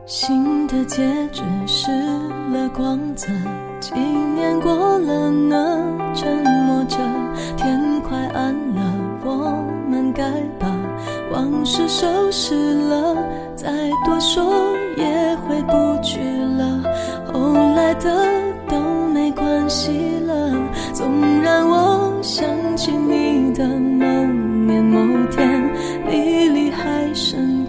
新的戒指失了光泽，几年过了呢，沉默着，天快暗了，我们该把往事收拾了，再多说也回不去了，后来的都没关系了，纵然我想起你的某年某天，历历还深刻。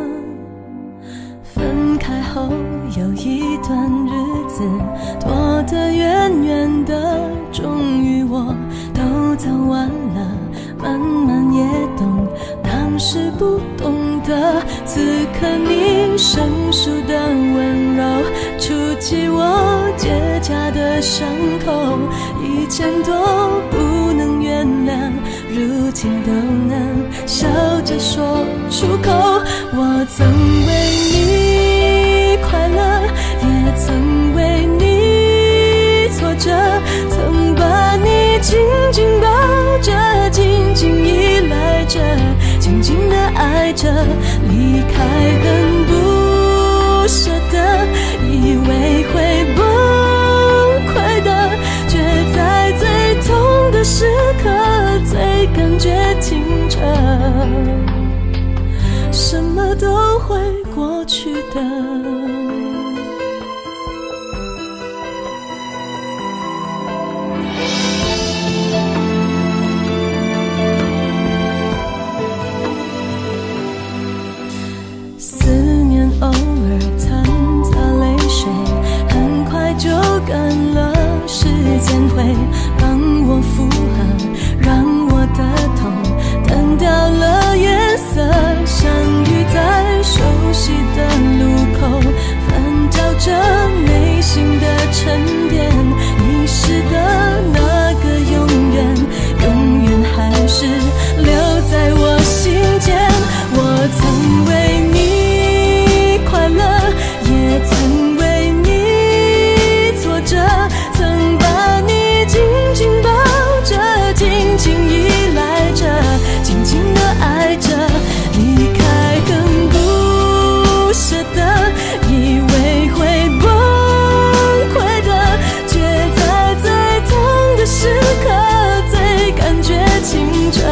分开后有一段日子，拖得远远的，终于我都走完了，慢慢也懂当时不懂的，此刻你生疏的温柔，触及我结痂的伤口，以前都不能原谅，如今都能笑着说出口。我曾为你快乐，也曾为你挫折，曾把你紧紧抱着，紧紧依赖着，紧紧地爱着，离开很不舍得，以为会崩溃的，却在最痛的时刻最感觉清澈，什么都会过去的。思念偶尔掺杂泪水，很快就干了，时间会帮我复合，让我的痛淡掉了颜色，相遇在熟悉的路口，翻找着内心的沉淀，遗失的那个永远，永远还是留在我心间。我曾为你快乐，也曾为你挫折，曾把你紧紧抱着，紧紧依赖着，紧紧地爱着，离开更不舍得，以为会崩溃的，却在最痛的时刻最感觉清澈，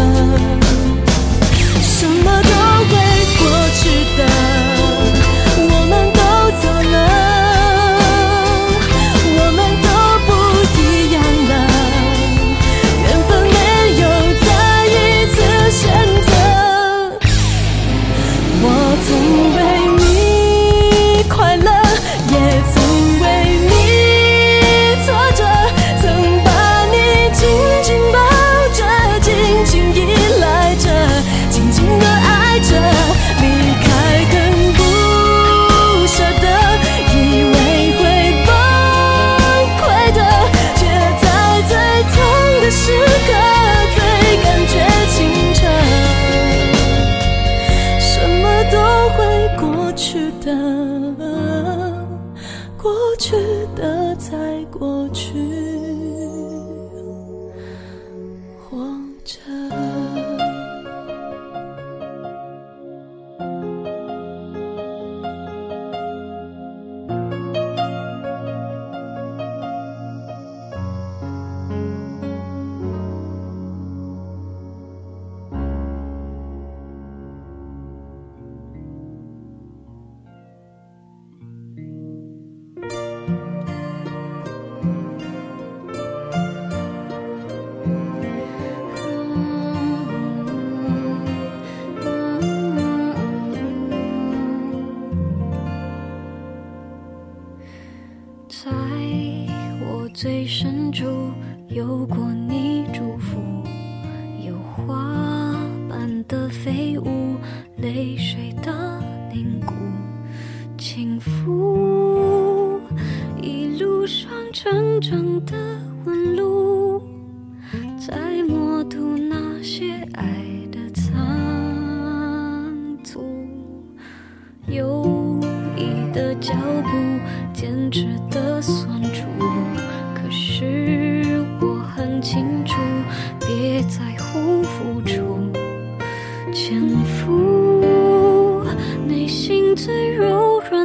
什么都会过去的，我们都走了，我们都不一样了，缘分没有再一次选择。我曾为你快乐，也曾为你挫折，曾把你紧紧抱着，紧紧依赖着，紧紧地爱着，离开更不舍得，以为会崩溃的，却在最痛的时刻最感觉清澈，什么都会过去的，过去的再过去，活着。 在我最深处有过你祝福，有花般的飞舞，泪水的凝固，轻抚一路上真正的纹路，在默读那些爱的残阻，犹疑的脚步，坚持的酸楚，可是我很清楚，别在乎付出，潜伏内心最柔软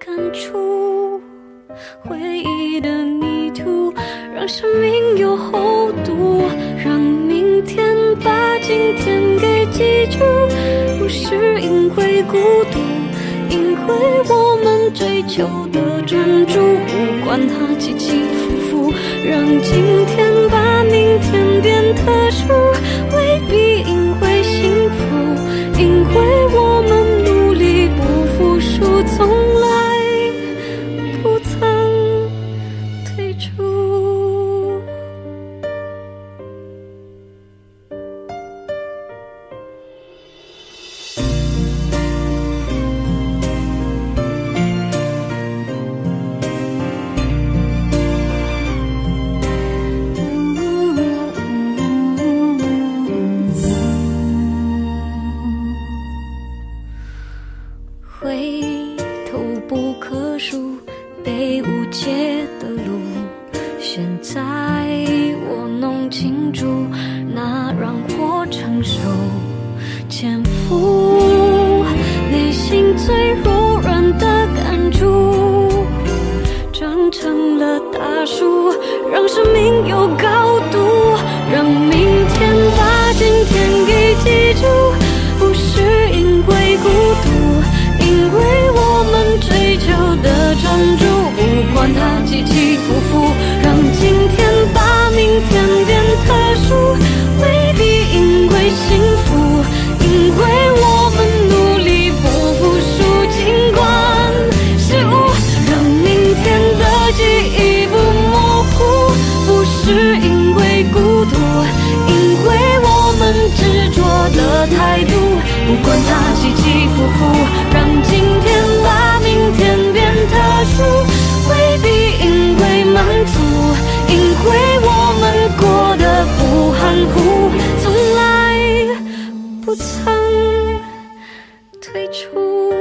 出回忆的泥土，让生命有厚度，让明天把今天给记住。不是因为孤独，因为我们追求的专注，不管它起起伏伏，让今天把明天变特殊。未必因为幸福，因为我们努力不服输，从来不曾退出。回头不可数被误解的路，现在我弄清楚，那让我承受肩负内心最柔软的感触，长成了大树，让生命有高度，让明天把今天给记住。不是因为孤独，因为我们追求的专注，不管它起起伏伏，让今天把明天变特殊。未必因为幸福，因为我们努力不服输，尽管失误，让明天的记忆不模糊。不是因为孤独，因为我们执着的态度，不管它起起伏伏，让今天把明天变特殊。未必因为满足，因为我们过得不含糊，从来不曾退出。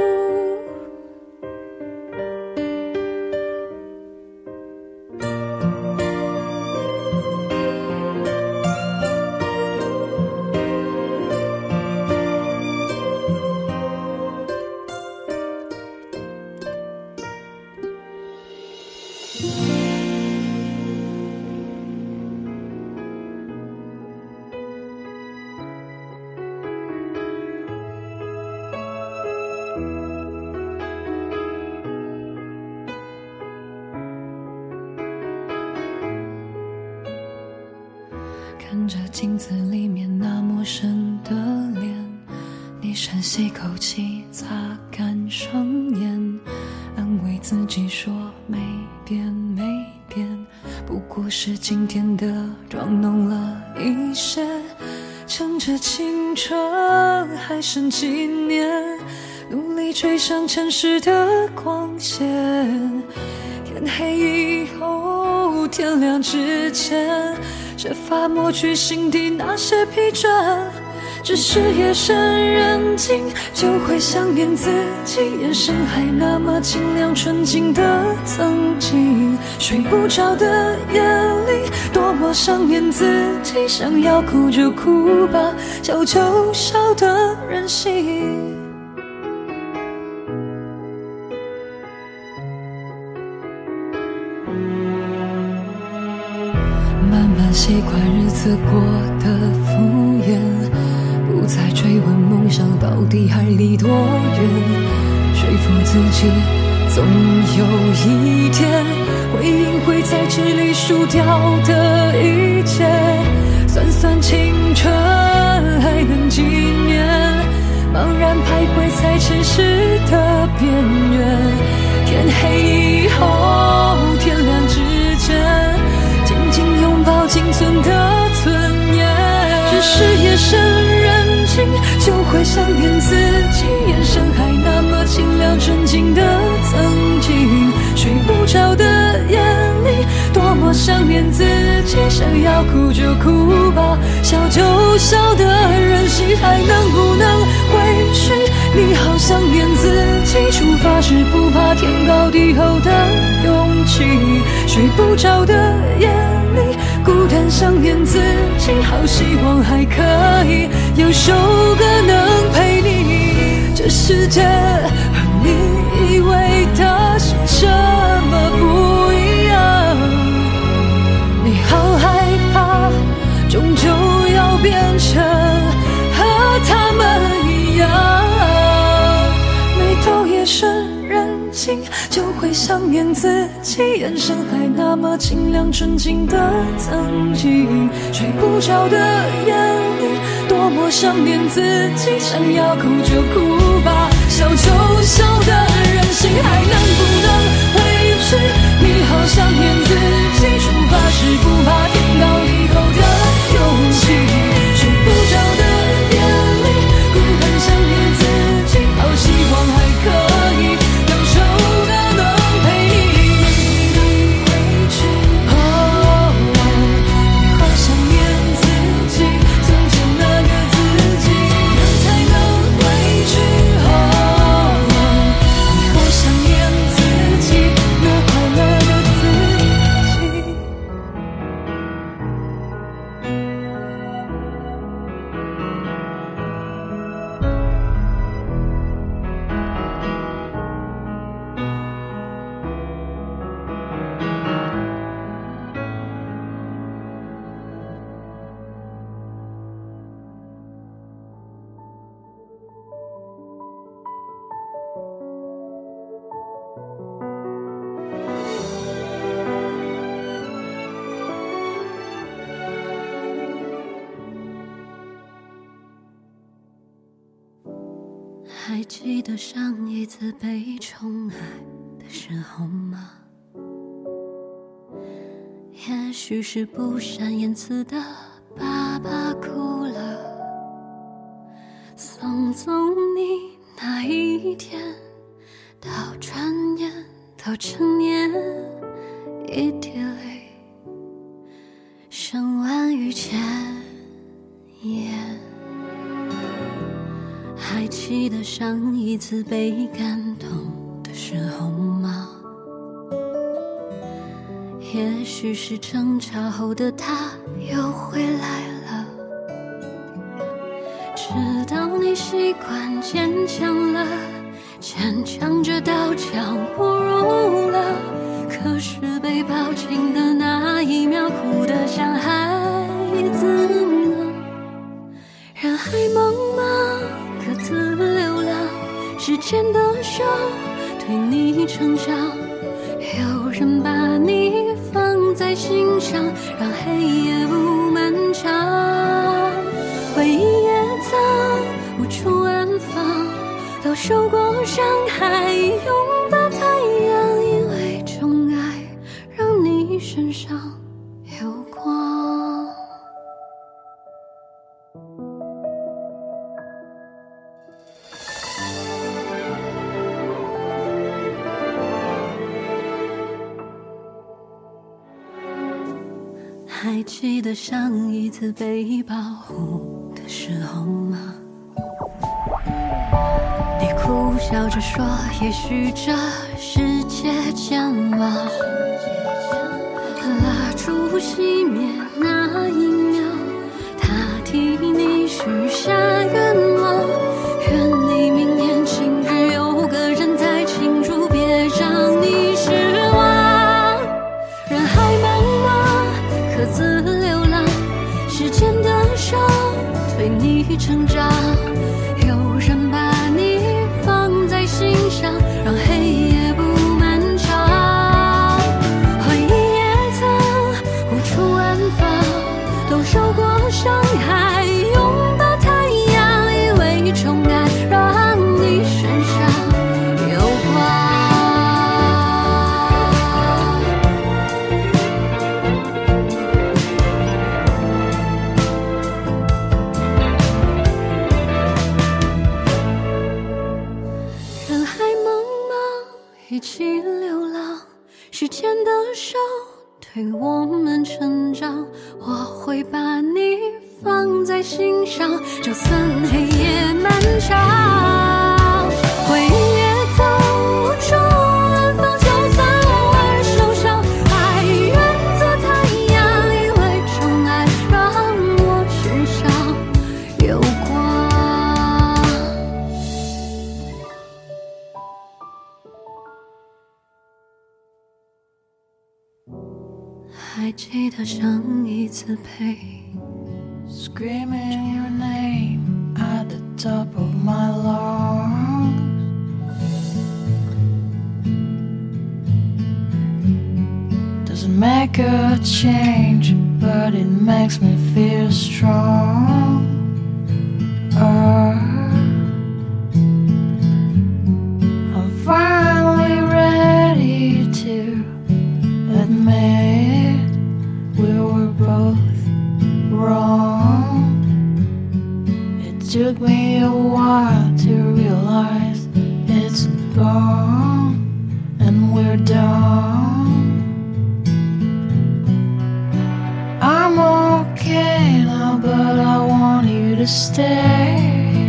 看着镜子里面那陌生的脸，你深吸口气，擦干双眼，安慰自己说没变没变，不过是今天的妆浓了一些，趁着青春还剩几年，努力追上城市的光线。天黑以后，天亮之前，设法抹去心底那些疲倦。只是夜深人静，就会想念自己，眼神还那么清亮纯净的曾经。睡不着的夜里，多么想念自己，想要哭就哭吧，笑就笑的任性。慢慢习惯日子过得敷衍，不再追问梦想到底还离多远，说服自己总有一天回应会在纸里输掉的一切。算算青春还能几年，茫然徘徊在城市的边缘。天黑以后，天亮之前，紧紧拥抱仅存的尊严。只是夜深人静，就会想念自己，眼神还那么清亮纯净的曾经。睡不着的夜里，多么想念自己，想要哭就哭吧，笑就笑的任性，还能不能回去？你好想念自己，出发时不怕天高地厚的勇气。睡不着的夜里，孤单想念自己，好希望还可以有首歌能陪你。这世界和你以为的也是人性，就会想念自己，眼神还那么清亮纯净的曾经，睡不着的夜里多么想念自己，想要哭就哭吧，笑就笑的任性，还能不能回去？你好想念自己，出发时不怕天高地厚的勇气，睡不着的夜里孤单想念自己，好希望还可以感受的能陪你回去。你好想念自己，从前那个自己，怎样才能回去？你好想念自己，那快乐的自己。还记得上一次被宠爱的时候吗？也许是不善言辞的爸爸哭了，送走你那一天，到转眼到成年，一滴泪胜万语千言。还记得上一次被感动的时候吗？也许是争吵后的他又回来了，直到你习惯坚强了，坚强着到讲不入了，可是被抱紧的那一秒哭得像孩子呢。人海茫茫各自流浪，时间的手推你成长，有人把你放在心上，让黑夜不漫长。回忆也曾无处安放，都受过伤害，拥抱太阳，因为宠爱让你身上有光。还记得上一次被保护的时候吗？你苦笑着说，也许这世界健忘，蜡烛熄灭那一秒，他替你许下愿望，愿你明年今日有个人在庆祝，别让你失望。人海茫茫各自流浪，时间的手推你成长，有人把你放在心上，让黑夜不漫长。回忆也曾无处安放，都受过伤害，拥抱太阳，以为宠爱让你身上有光。人海茫茫一起流浪，时间的手推我们成长，我会把你放在心上，就算黑夜漫长。回忆也曾无处安放，就算偶尔受伤，还愿做太阳，因为宠爱让我身上有光。还记得上一次陪 Screaming your name at the top of my lungs, make a change, but it makes me feel strong. I'm finally ready to admit we were both wrong. It took me a while to realize it's gone and we're done. I'm okay now, but I want you to stay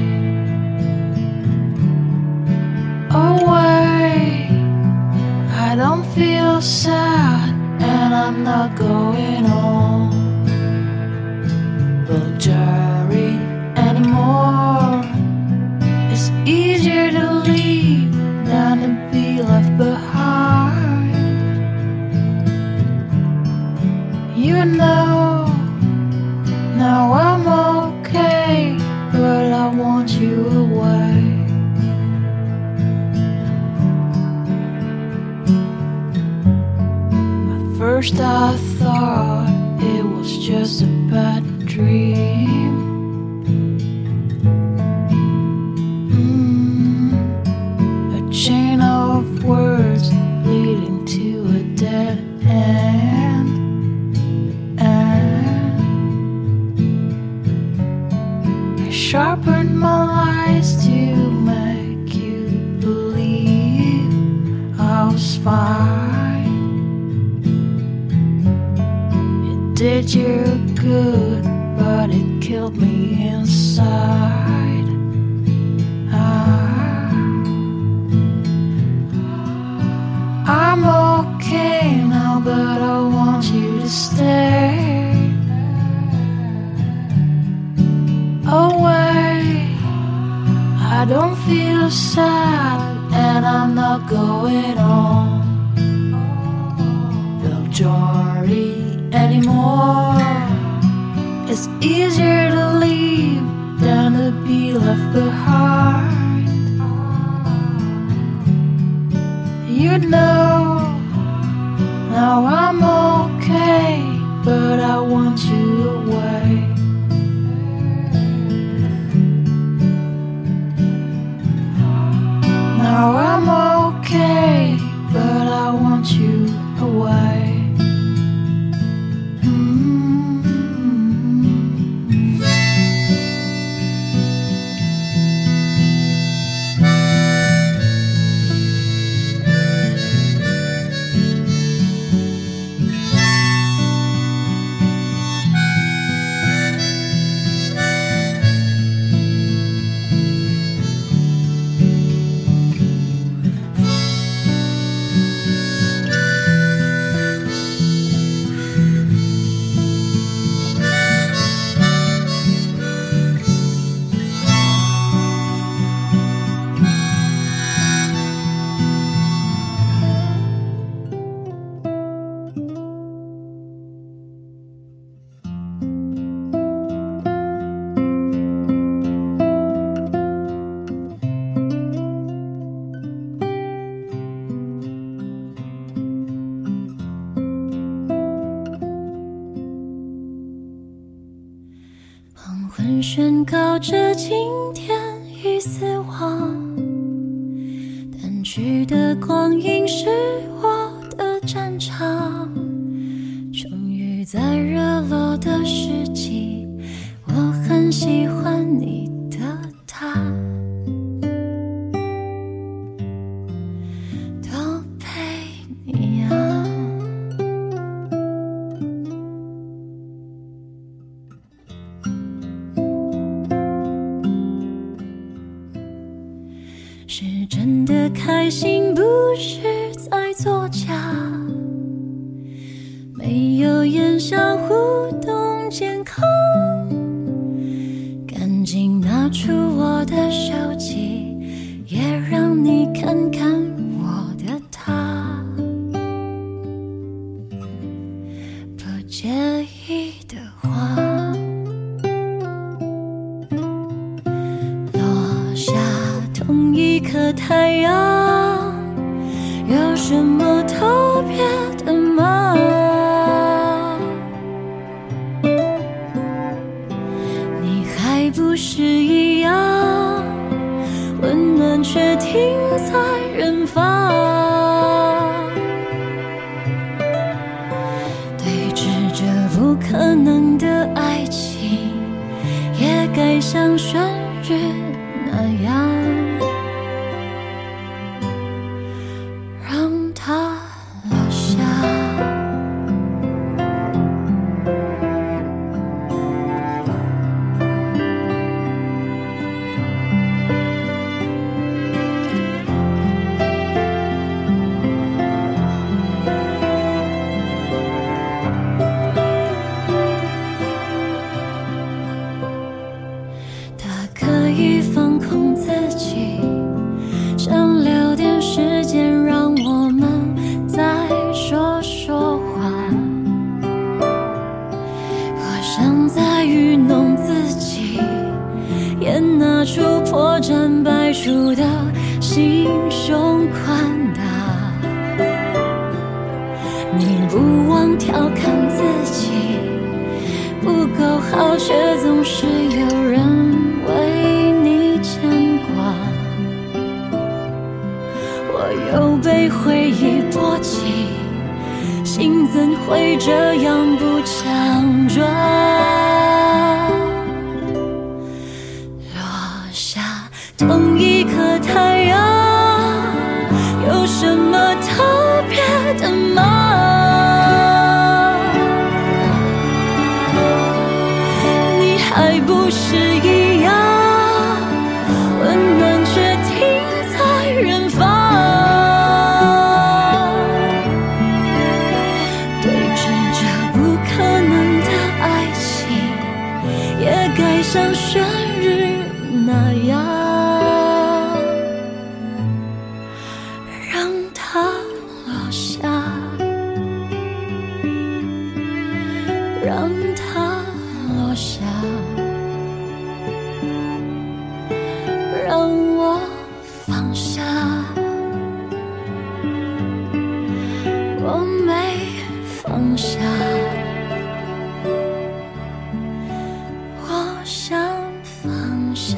away. I don't feel sad and I'm not going on Bulgari anymore. It's easier to leave than to be left behind. You know, now I'm okay, but I want you away. At first I thought it was just a bad dream. A chain of words leading to a dead end. Sharpened my lies to make you believe I was fine. It did you good, but it killed me inside. I'm okay now, but I want you to stay away. I don't feel sad and I'm not going on Bulgari anymore. It's easier to leave than to be left behind. You know, now I'm okay, but I want you away. Now I'm okay, but I want you away. 黄昏宣告着今天已死亡，淡去的光阴是我的战场，终于在热络的时机，我很喜欢你的他，都陪你啊。是真的开心，不是在作假，没有言笑互动健康，赶紧拿出我的手机，也让你看看我的他，不介意的话，落下同一颗太阳，有什么特别的吗？ 对峙着不可能的爱情，也该像旋律那样，让它落下。可以放空自己，想留点时间让我们再说说话。我想再愚弄自己，也拿出破绽百出的心胸宽大。你不忘调侃自己不够好，却总是有人为你牵挂，我又被回忆波及，心怎会这样不强壮？落下同一颗太阳，有什么特别的吗？你还不是一样，温暖却停在远方。对峙着不可能的爱情，也该像旋律那样，让它落下，让它落下，让我放下。我没放下，我想放下。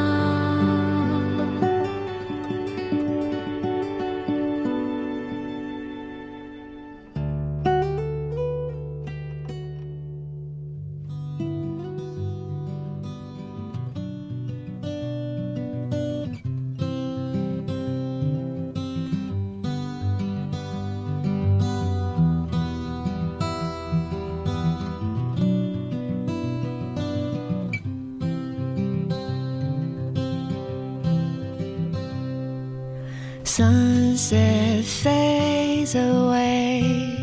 Sunset fades away,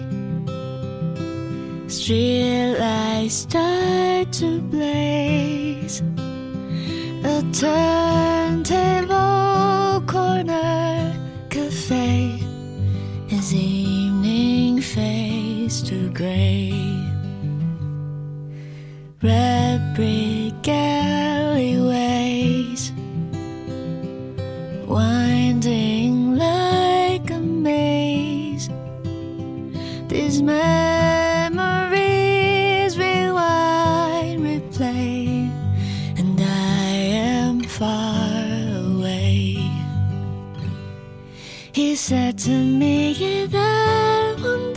streetlights start to blaze. A turntable corner cafe as evening fades to gray. Red brick alleyways winding like a maze. These memories rewind, replay, and I am far away. He said to me that one